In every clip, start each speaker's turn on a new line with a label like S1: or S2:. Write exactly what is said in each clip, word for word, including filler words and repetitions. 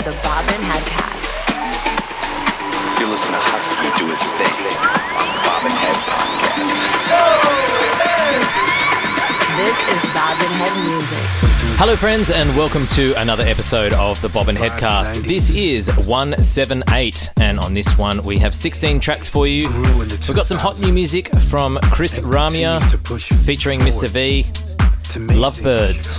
S1: the Bobbin Headcast.
S2: You're listening to Husky do his thing on the Bobbin Head Podcast.
S1: This is Bobbin Head Music.
S3: Hello friends and welcome to another episode of the Bobbin Headcast. This is one seventy-eight and on this one we have sixteen tracks for you. We've got some hot new music from Chris Ramia featuring Mister V, Lovebirds,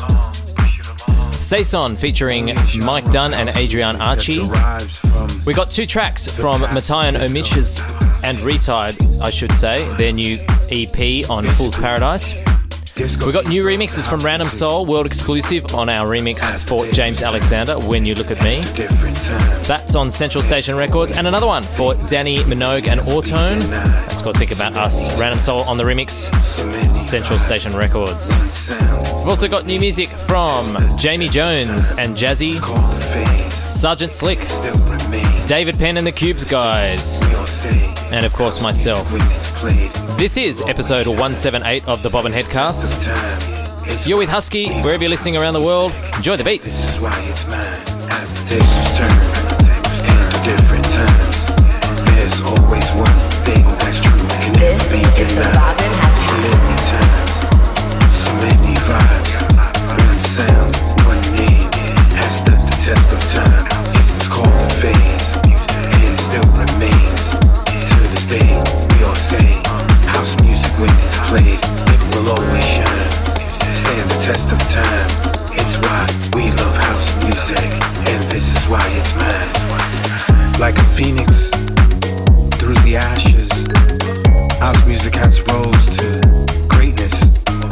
S3: Saison featuring Mike Dunn and Adrian Archie. We got two tracks from Matthias Omich's and Retired, I should say, their new E P on Fool's Paradise. We got new remixes from Random Soul, world exclusive on our remix for James Alexander, When You Look at Me. That's on Central Station Records. And another one for Danny Minogue and Autone. That's called Think About Us. Random Soul on the remix, Central Station Records. We've also got new music from Jamie Jones and Jazzy, Sergeant Slick, David Penn and the Cubes guys, and of course myself. This is episode one seventy-eight of the Bobbin Headcast. You're with Husky, wherever you're listening around the world. Enjoy the beats.
S4: This is why it's mine. As the tables turn and to different times, there's always one thing that's true. Can never be denied. So many times, so many vibes. One sound, one name has stood the test of time. It was called a phase, and it still remains. To this day, we all say house music when it's played, it will always shine. Stand the test of time. It's why we love house music, and this is why it's mine. Like a phoenix through the ashes, house music has rose to greatness.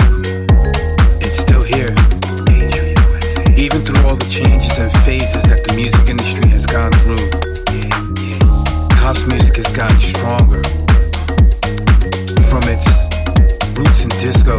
S4: It's still here, even through all the changes and phases that the music industry has gone through. House music has gotten stronger from its roots in disco.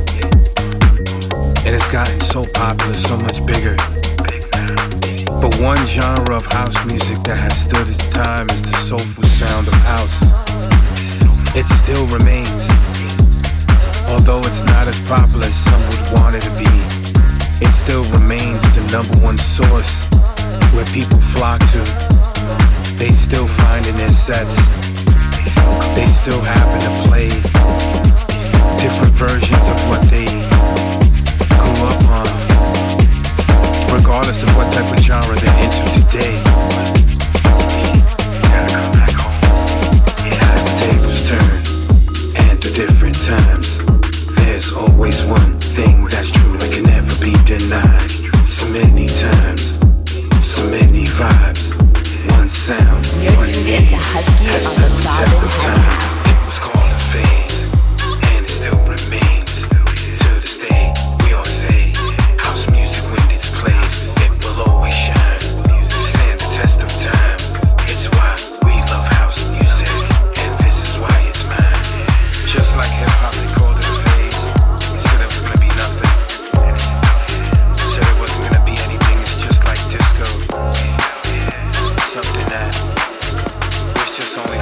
S4: It has gotten so popular, so much bigger. But one genre of house music that has stood its time is the soulful sound of house. It still remains. Although it's not as popular as some would want it to be, it still remains the number one source where people flock to. They still find in their sets. They still happen to play different versions of what they grew up on, regardless of what type of genre they're into today. Gotta come back home. As the tables turn and to different times, there's always one thing that's true and can never be denied. So many times, so many vibes, one sound,
S1: You're
S4: one
S1: tuned
S4: name
S1: into Husky
S4: has
S1: on
S4: stood
S1: the
S4: the
S1: Bobbin
S4: test of time.
S1: Headcast.
S4: It was called a phase, and it still remains. To this day, we all say house music when it's played, it will always shine. Stand the test of time. It's why we love house music, and this is why it's mine. Just like hip hop, they called it a phase. They said it was gonna be nothing. They said it wasn't gonna be anything. It's just like disco. Something that was just on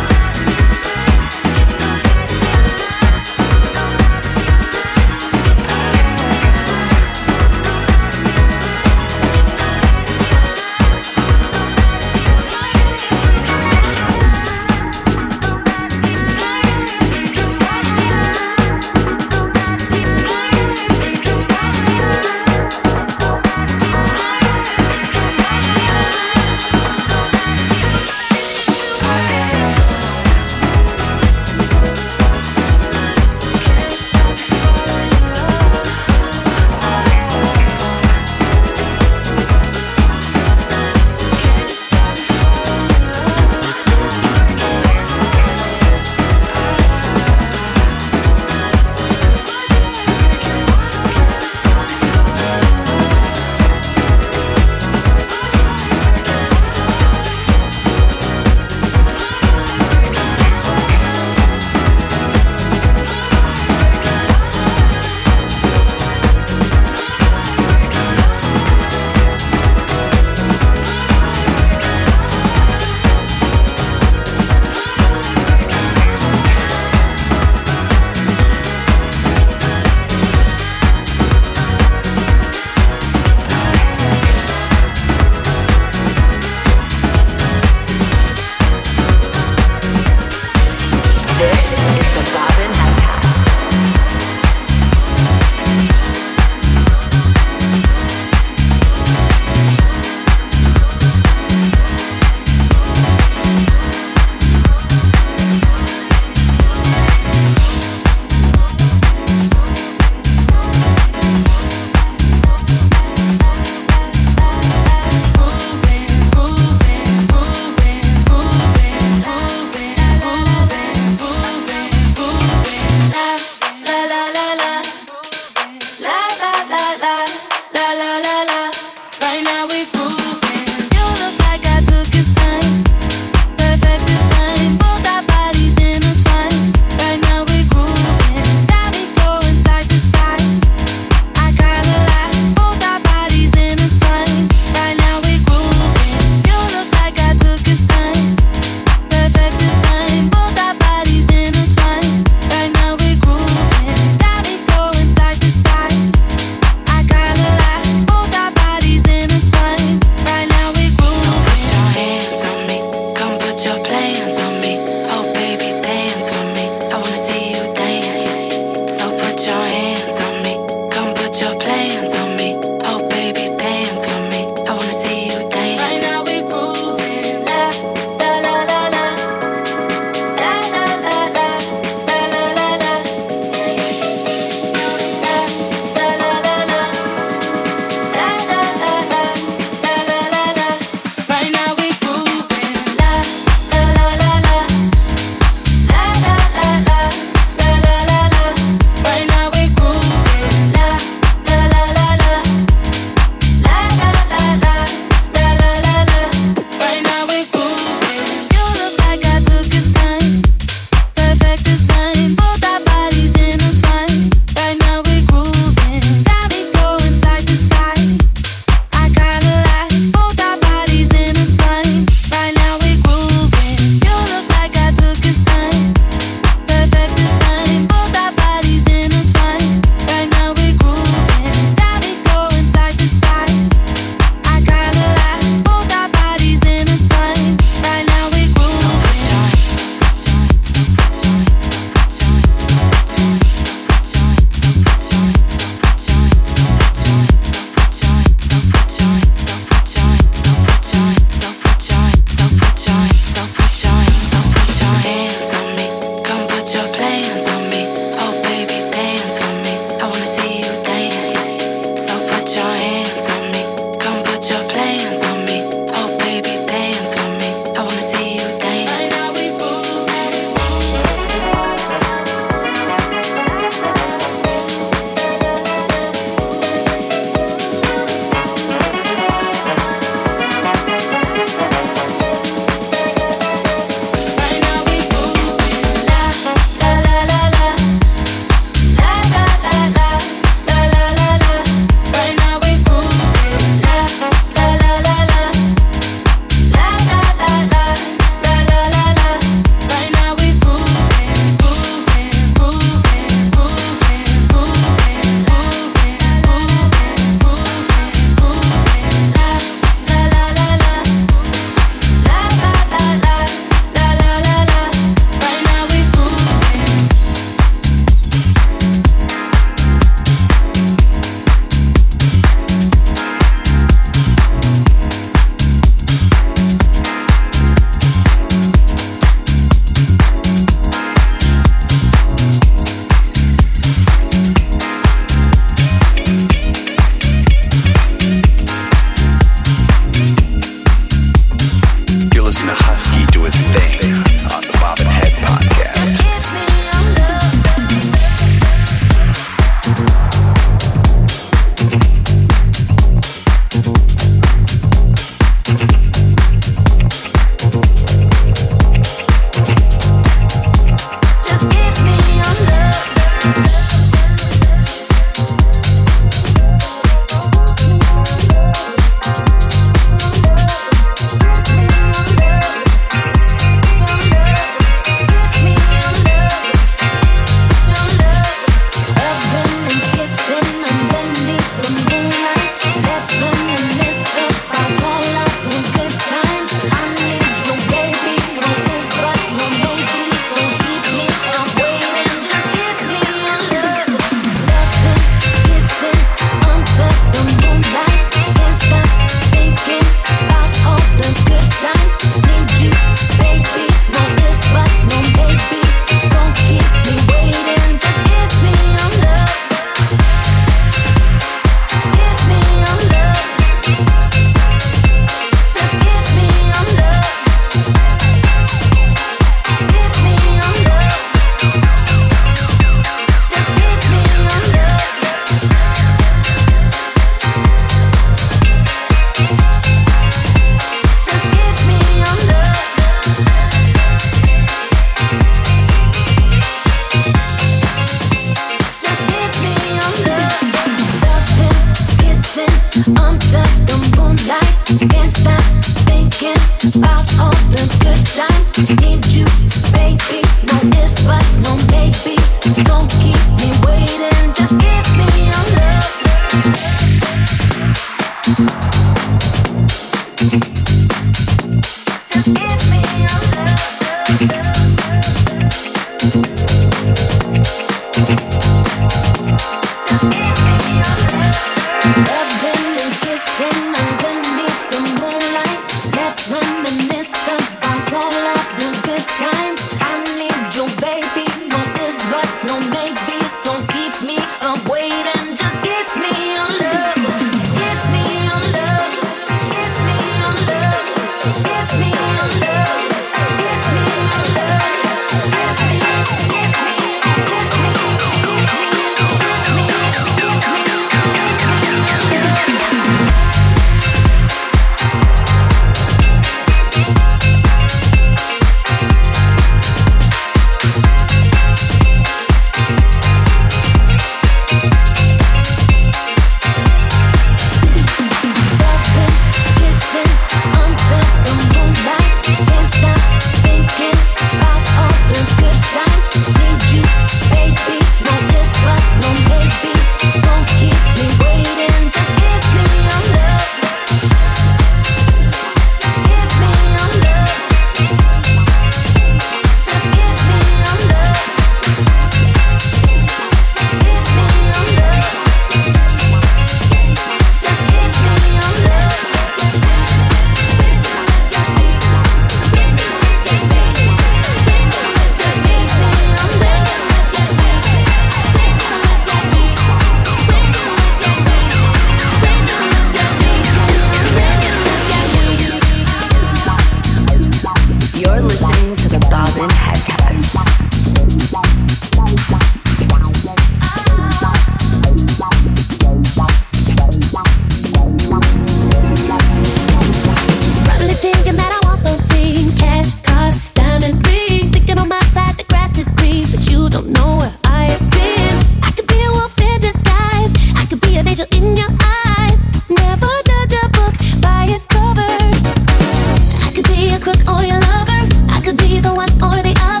S5: Crook or your lover, I could be the one or the other.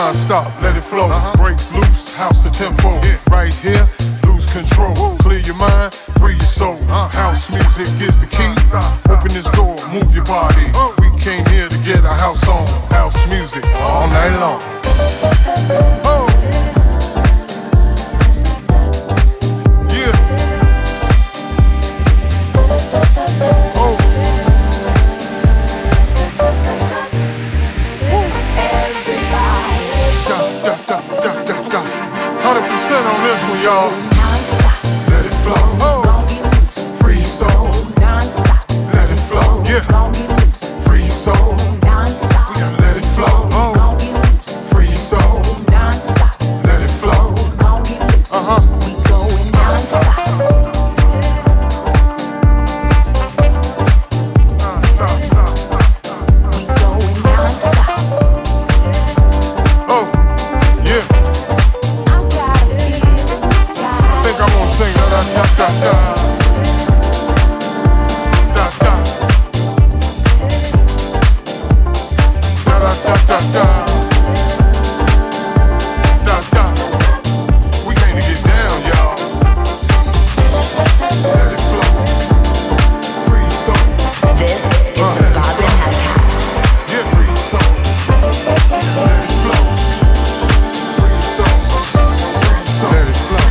S5: non-stop, let it flow. Uh-huh. Breaks loose, house to tempo. Yeah. Right here, lose control. Woo. Clear your mind, free your soul. Uh-huh. House music is the key. Open this door, move your body. Uh-huh. We came here to get our house on. House music all night long. Oh. Yeah. Oh. one hundred percent on this one, y'all. Let it flow. Oh. Free soul. Non-stop. Let it flow. Yeah. Free soul. Non-stop. We gotta let it flow. Oh. Free soul. Non-stop. Let it flow. Uh-huh. We going non-stop. We going non-stop. Oh, yeah. I think I'm gonna sing da da da da da da da da da da da da da. We came to get down, y'all. Let it flow. Free soul.
S1: This is uh, the Bobbin Headcast.
S5: Yeah, free soul. Let it flow. Free soul. Free soul. Let it flow.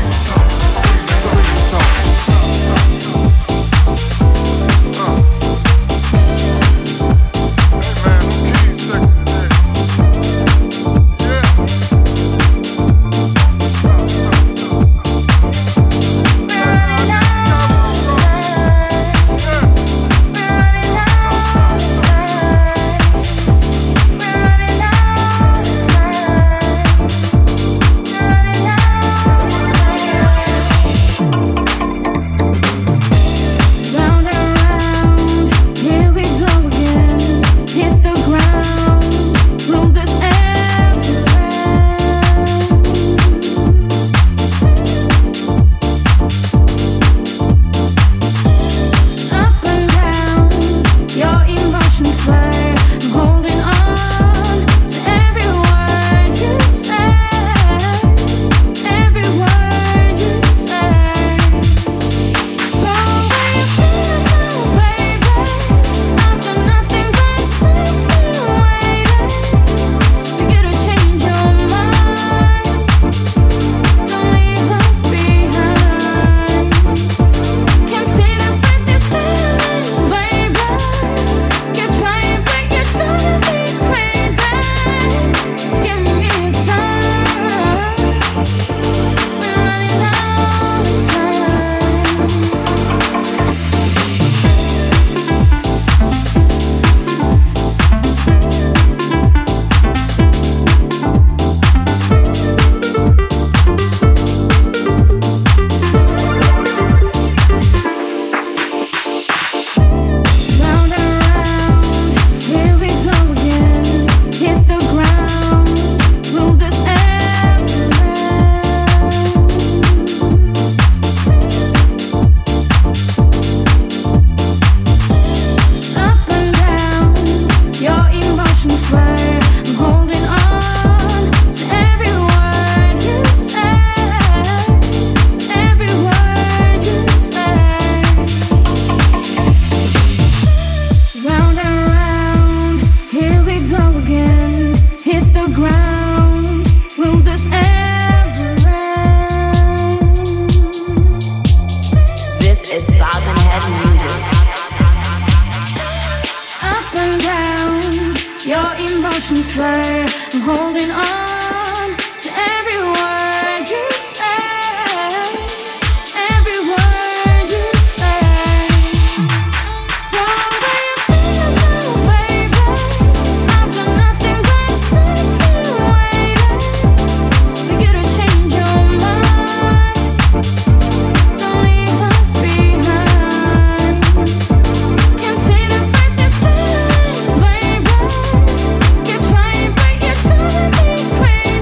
S6: Crazy.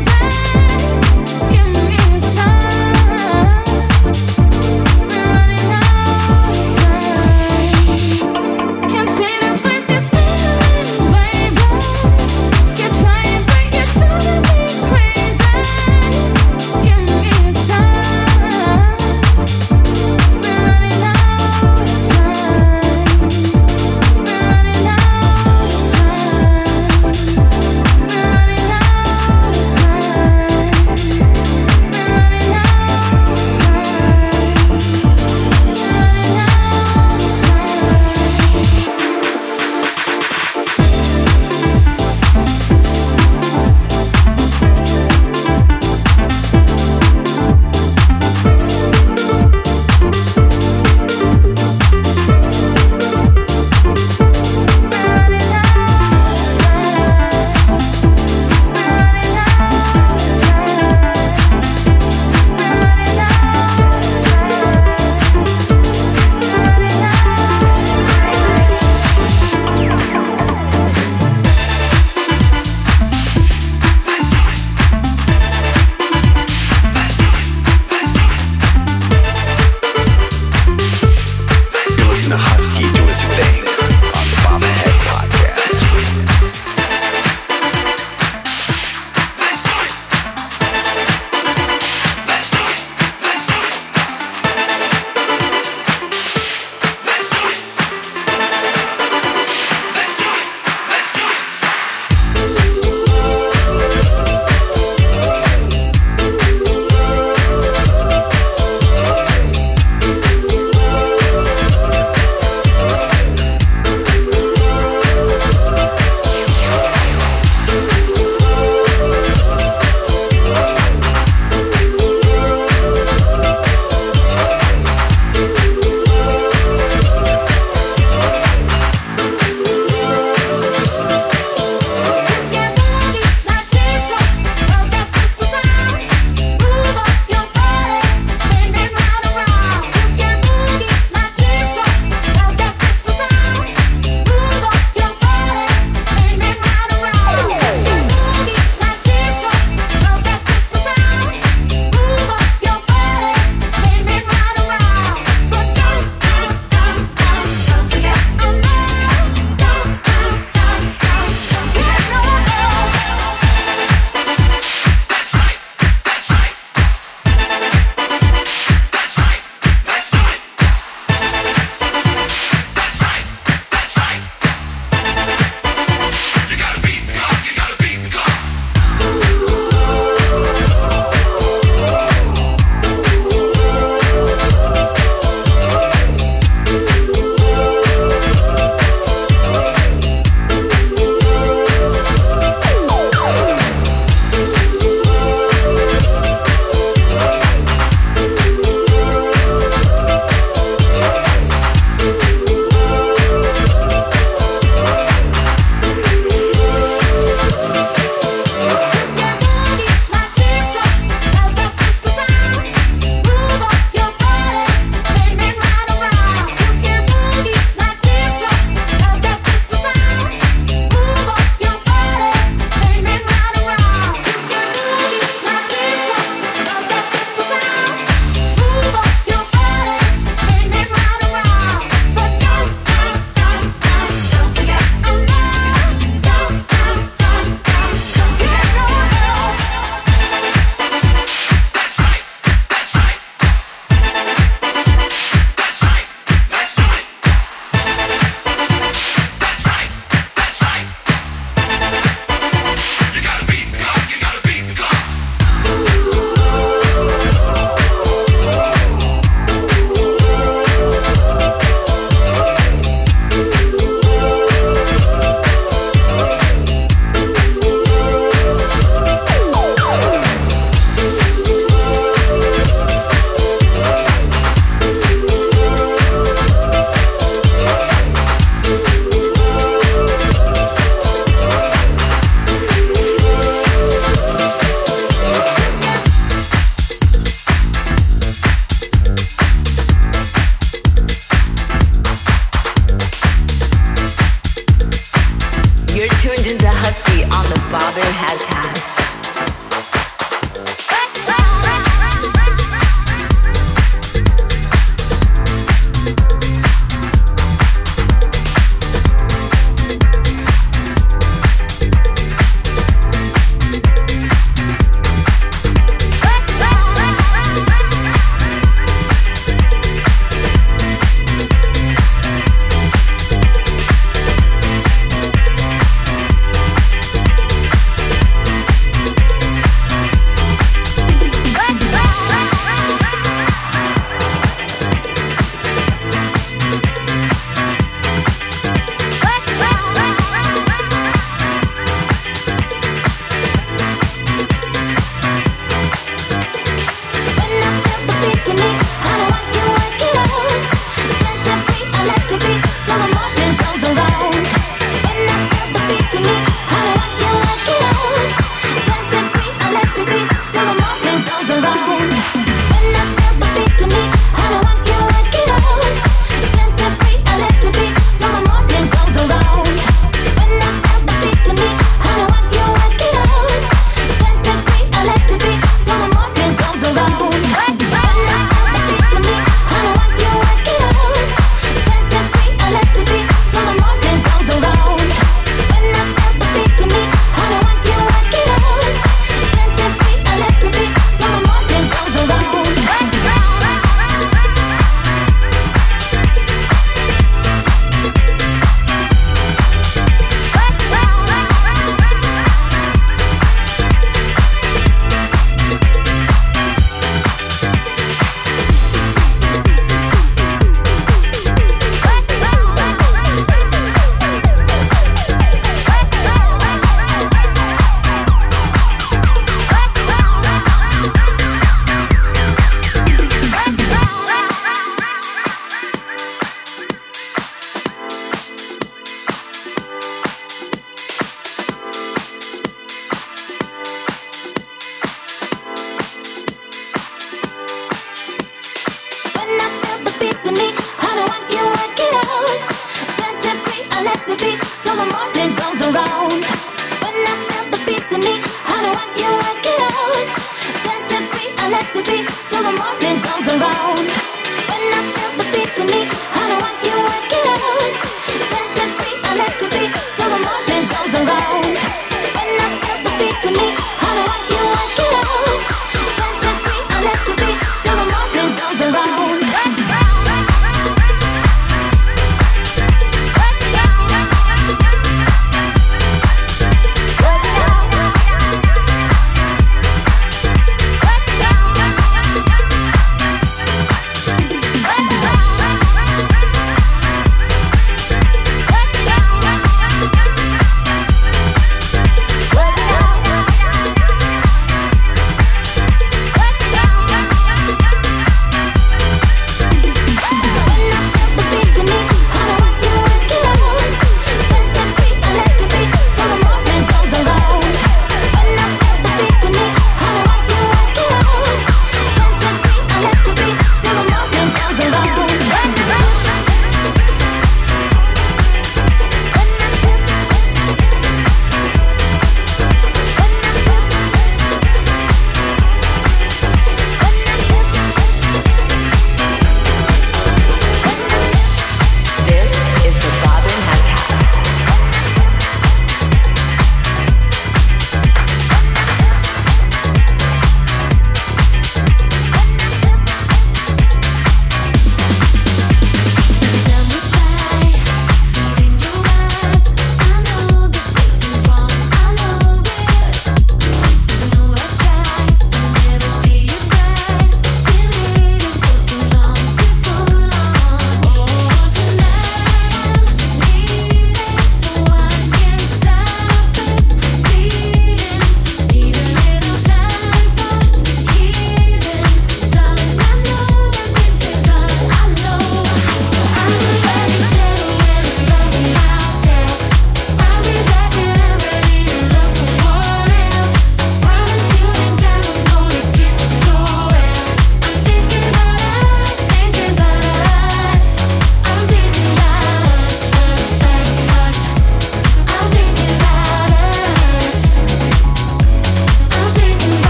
S1: Bobbin Headcast.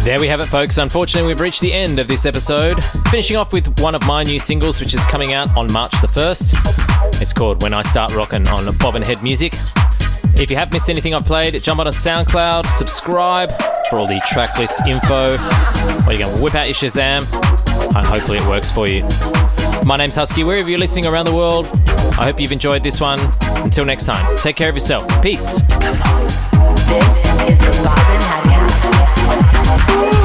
S3: There we have it, folks. Unfortunately, we've reached the end of this episode. Finishing off with one of my new singles, which is coming out on March the first. It's called When I Start Rockin' on Bobbin Head Music. If you have missed anything I've played, jump on SoundCloud, subscribe for all the tracklist info, or you can whip out your Shazam, and hopefully it works for you. My name's Husky, wherever you're listening around the world. I hope you've enjoyed this one. Until next time, take care of yourself. Peace.
S1: This is the Bobbin Headcast.